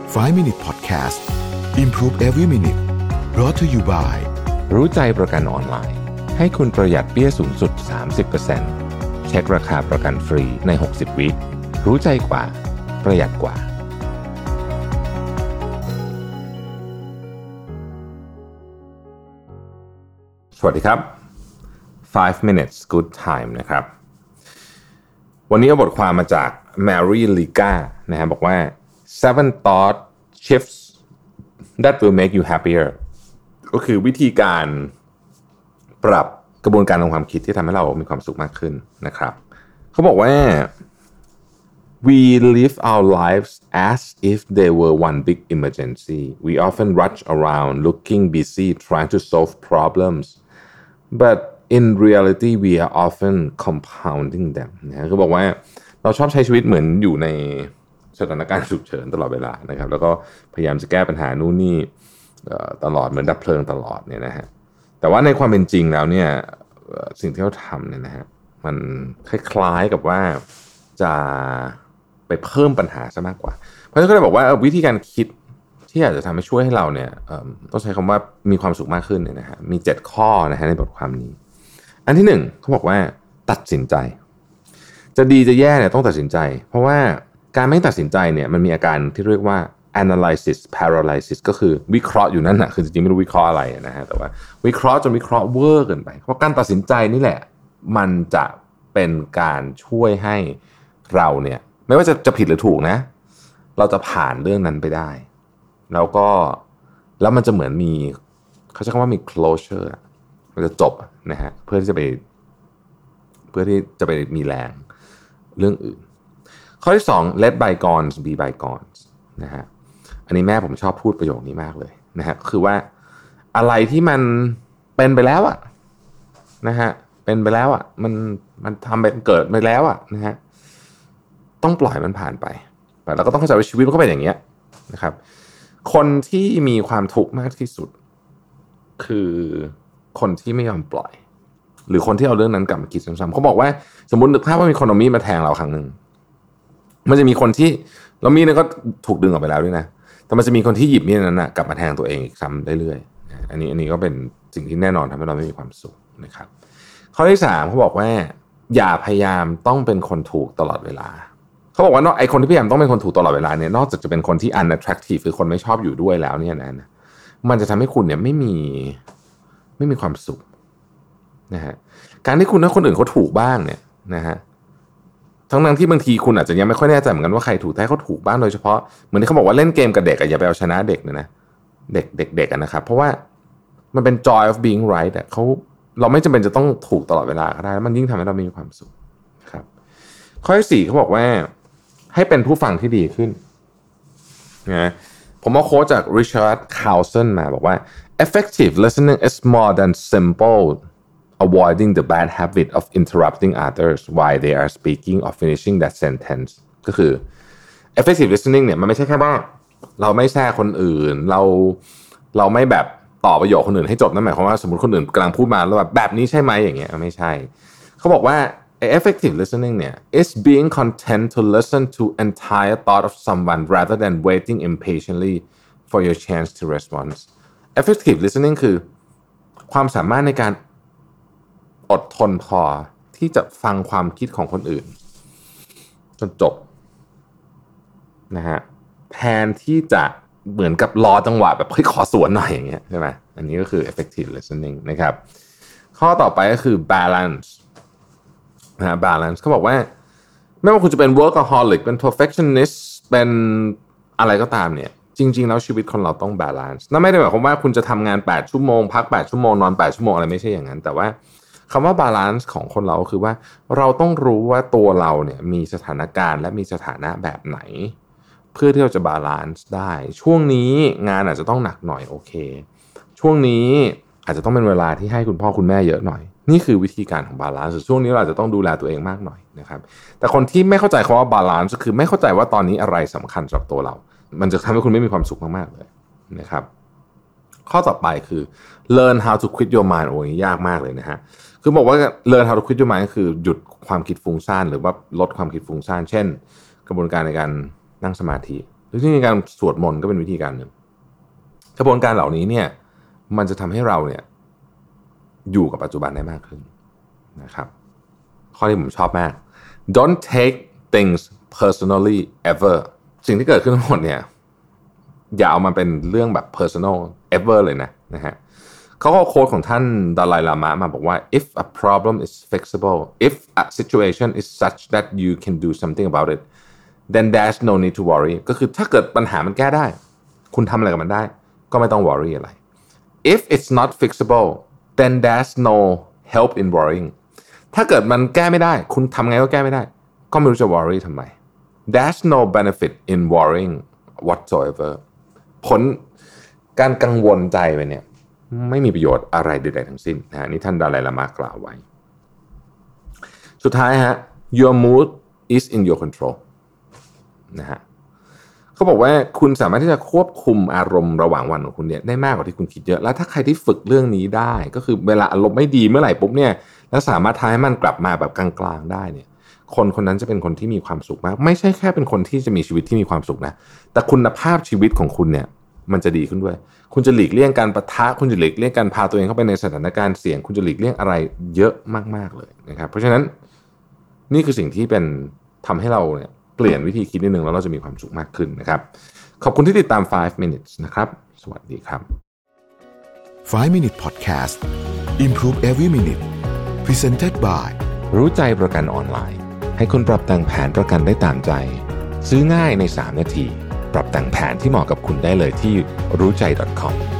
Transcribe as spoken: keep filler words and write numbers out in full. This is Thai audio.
five minute podcast Improve every minute brought to you by รู้ใจประกันออนไลน์ให้คุณประหยัดเบี้ยสูงสุด สามสิบเปอร์เซ็นต์ เช็คราคาประกันฟรีในหกสิบวิรู้ใจกว่าประหยัดกว่าสวัสดีครับ five minutes good time นะครับวันนี้เอาบทความมาจาก Mary Liga นะฮะบอกว่า seven thought shifts that will make you happier ก็คือวิธีการปรับกระบวนการทางความคิดที่ทำให้เรามีความสุขมากขึ้นนะครับเขาบอกว่า we live our lives as if they were one big emergency we often rush around looking busy trying to solve problems but in reality we are often compounding them นะคือบอกว่าเราชอบใช้ชีวิตเหมือนอยู่ในสถานการณ์ฉุกเฉินตลอดเวลานะครับแล้วก็พยายามจะแก้ปัญหานู่นนี่ตลอดเหมือนดับเพลิงตลอดเนี่ยนะฮะแต่ว่าในความเป็นจริงแล้วเนี่ยสิ่งที่เขาทำเนี่ยนะฮะมันคล้ายๆกับว่าจะไปเพิ่มปัญหาซะมากกว่าเพราะฉะนั้นก็เลยบอกว่าวิธีการคิดที่อาจจะทำให้ช่วยให้เราเนี่ยต้องใช้คำว่ามีความสุขมากขึ้นเนี่ยนะฮะมีเจ็ดข้อนะฮะในบทความนี้อันที่หนึ่งเขาบอกว่าตัดสินใจจะดีจะแย่เนี่ยต้องตัดสินใจเพราะว่าการไม่ตัดสินใจเนี่ยมันมีอาการที่เรียกว่า analysis paralysis ก็คือวิเคราะห์อยู่นั่นนะคือจริงๆไม่รู้วิเคราะห์อะไรนะฮะแต่ว่าวิเคราะห์จนวิเคราะห์เวอร์เกินไปเพราะการตัดสินใจนี่แหละมันจะเป็นการช่วยให้เราเนี่ยไม่ว่าจะจะผิดหรือถูกนะเราจะผ่านเรื่องนั้นไปได้แล้วก็แล้วมันจะเหมือนมีเขาใช้คำว่ามี closure มันจะจบนะฮะเพื่อที่จะไปเพื่อที่จะไปมีแรงเรื่องอื่นข้อที่สอง let bygones be bygones นะฮะอันนี้แม่ผมชอบพูดประโยคนี้มากเลยนะฮะคือว่าอะไรที่มันเป็นไปแล้วอะนะฮะเป็นไปแล้วอะมันมันทำเป็นเกิดไปแล้วอะนะฮะต้องปล่อยมันผ่านไปแล้วก็ต้องเข้าใจว่าชีวิตมันก็เป็นอย่างเงี้ยนะครับคนที่มีความทุกข์มากที่สุดคือคนที่ไม่ยอมปล่อยหรือคนที่เอาเรื่องนั้นกลับมาคิดซ้ำๆเขาบอกว่าสมมุตินึกภาพว่ามีคนเอามีดมาแทงเราครั้งนึงมันจะมีคนที่แล้วมีดนั้นก็ถูกดึงออกไปแล้วด้วยนะแต่มันจะมีคนที่หยิบมีดนั้นนะกลับมาแทงตัวเองอีกซ้ำเรื่อยๆอันนี้อันนี้ก็เป็นสิ่งที่แน่นอนทำให้เราไม่มีความสุขนะครับข้อที่สามเขาบอกว่าอย่าพยายามต้องเป็นคนถูกตลอดเวลาเขาบอกว่านอกไอคนที่พยายามต้องเป็นคนถูกตลอดเวลาเนี่ยนอกจากจะเป็นคนที่ unattractive คือคนไม่ชอบอยู่ด้วยแล้วเนี่ยนะมันจะทำให้คุณเนี่ยไม่มีไม่มีความสุขนะฮะการที่คุณให้คนอื่นเขาถูกบ้างเนี่ยนะฮะทั้งนั้นที่บางทีคุณอาจจะยังไม่ค่อยแน่ใจเหมือนกันว่าใครถูกแต่เขาถูกบ้างโดยเฉพาะเหมือนที่เขาบอกว่าเล่นเกมกับเด็กอะอย่าไปเอาชนะเด็กนะเด็กเด็กๆอะนะครับเพราะว่ามันเป็น joy of being right อะเขาเราไม่จำเป็นจะต้องถูกตลอดเวลาก็ได้แล้วมันยิ่งทำให้เรามีความสุขครับข้อที่สี่เขาบอกว่าให้เป็นผู้ฟังที่ดีขึ้นนะผมเอาโค้ชจาก Richard Carlson มาบอกว่า effective listening is more than simple avoiding the bad habit of interrupting others while they are speaking or finishing that sentence ก็คือ effective listening เนี่ยมันไม่ใช่แค่ว่าเราไม่แทรกคนอื่นเราเราไม่แบบต่อประโยคคนอื่นให้จบนั่นหมายความว่าสมมติคนอื่นกำลังพูดมาแล้วแบบแบบนี้ใช่ไหมอย่างเงี้ยไม่ใช่เขาบอกว่าeffective listening เนี่ย is being content to listen to entire thought of someone rather than waiting impatiently for your chance to respond effective listening คือความสามารถในการอดทนพอที่จะฟังความคิดของคนอื่นจนจบนะฮะแทนที่จะเหมือนกับรอจังหวะแบบเฮ้ยขอสวนหน่อยอย่างเงี้ยใช่ไหมอันนี้ก็คือ effective listening นะครับข้อต่อไปก็คือ balanceนะ balance เขาบอกว่าไม่ว่าคุณจะเป็น workaholic เป็น perfectionist เป็นอะไรก็ตามเนี่ยจริงๆแล้วชีวิตคนเราต้อง balance นั่นไม่ได้หมายความว่าคุณจะทำงานแปดชั่วโมงพักแปดชั่วโมงนอนแปดชั่วโมงอะไรไม่ใช่อย่างนั้นแต่ว่าคำว่า balance ของคนเราคือว่าเราต้องรู้ว่าตัวเราเนี่ยมีสถานการณ์และมีสถานะแบบไหนเพื่อที่เราจะ balance ได้ช่วงนี้งานอาจจะต้องหนักหน่อยโอเคช่วงนี้อาจจะต้องเป็นเวลาที่ให้คุณพ่อคุณแม่เยอะหน่อยนี่คือวิธีการของ balance ช่วงนี้เราอาจจะต้องดูแลตัวเองมากหน่อยนะครับแต่คนที่ไม่เข้าใจคำว่า balance ก็คือไม่เข้าใจว่าตอนนี้อะไรสำคัญสำหรับตัวเรามันจะทำให้คุณไม่มีความสุขมากๆเลยนะครับข้อต่อไปคือ learn how to quit your mind โอ้ยยากมากเลยนะฮะคือบอกว่า learn how to quit your mind ก็คือหยุดความคิดฟุ้งซ่านหรือว่าลดความคิดฟุ้งซ่านเช่นกระบวนการในการนั่งสมาธิหรือที่มีการสวดมนต์ก็เป็นวิธีการหนึ่งกระบวนการเหล่านี้เนี่ยมันจะทำให้เราเนี่ยอยู่กับปัจจุบันได้มากขึ้นนะครับข้อที่ผมชอบมาก don't take things personally ever สิ่งที่เกิดขึ้นทั้งหมดเนี่ยอย่าเอามาเป็นเรื่องแบบ personal ever เลยนะนะฮะเขาก็โค้ดของท่านดาไลลามะมาบอกว่า if a problem is fixable if a situation is such that you can do something about it then there's no need to worry ก็คือถ้าเกิดปัญหามันแก้ได้คุณทำอะไรกับมันได้ก็ไม่ต้อง worry อะไร if it's not fixable then there's no help in worrying ถ้าเกิดมันแก้ไม่ได้คุณทำไงก็แก้ไม่ได้ก็ไม่รู้จะ worry ทำไม there's no benefit in worrying whatsoever ผลการกังวลใจไปเนี่ยไม่มีประโยชน์อะไรใดๆทั้งสิ้นนะนี่ท่านดาไลลามะกล่าวไว้สุดท้ายฮะ your mood is in your control นะฮะเขาบอกว่าคุณสามารถที่จะควบคุมอารมณ์ระหว่างวันของคุณเนี่ยได้มากกว่าที่คุณคิดเยอะแล้วถ้าใครที่ฝึกเรื่องนี้ได้ก็คือเวลาอารมณ์ไม่ดีเมื่อไหร่ปุ๊บเนี่ยแล้วสามารถทำให้มันกลับมาแบบกลางๆได้เนี่ยคนคนนั้นจะเป็นคนที่มีความสุขมากไม่ใช่แค่เป็นคนที่จะมีชีวิตที่มีความสุขนะแต่คุณภาพชีวิตของคุณเนี่ยมันจะดีขึ้นด้วยคุณจะหลีกเลี่ยงการปะทะคุณจะหลีกเลี่ยงการพาตัวเองเข้าไปในสถานการณ์เสี่ยงคุณจะหลีกเลี่ยงอะไรเยอะมากๆเลยนะครับเพราะฉะนั้นนี่คือสิ่งที่เป็นทำให้เราเนี่ยเปลี่ยนวิธีคิดนิดนึงแล้วเราจะมีความสุขมากขึ้นนะครับขอบคุณที่ติดตามไฟว์ minutes นะครับสวัสดีครับไฟว์ minute podcast improve every minute presented by รู้ใจประกันออนไลน์ให้คุณปรับแต่งแผนประกันได้ตามใจซื้อง่ายในสามนาทีปรับแต่งแผนที่เหมาะกับคุณได้เลยที่รู้ใจ ดอท คอม